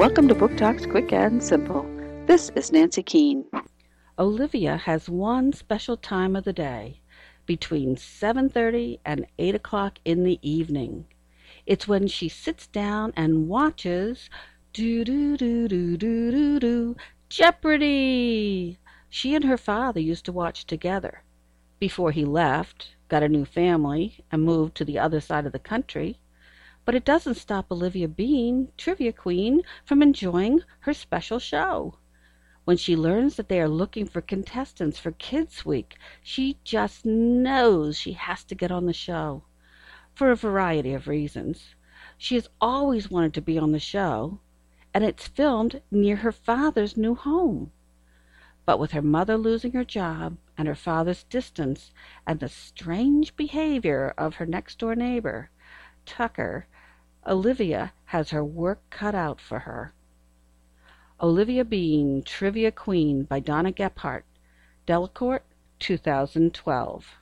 Welcome to Book Talks Quick and Simple. This is Nancy Keene. Olivia has one special time of the day, between 7:30 and 8 o'clock in the evening. It's when she sits down and watches do Jeopardy! She and her father used to watch together. Before he left, got a new family, and moved to the other side of the country. But it doesn't stop Olivia Bean, Trivia Queen, from enjoying her special show. When she learns that they are looking for contestants for Kids Week, she just knows she has to get on the show. For a variety of reasons. She has always wanted to be on the show, and it's filmed near her father's new home. But with her mother losing her job, and her father's distance, and the strange behavior of her next-door neighbor, Tucker, Olivia has her work cut out for her. Olivia Bean, Trivia Queen by Donna Gephardt, Delacorte, 2012.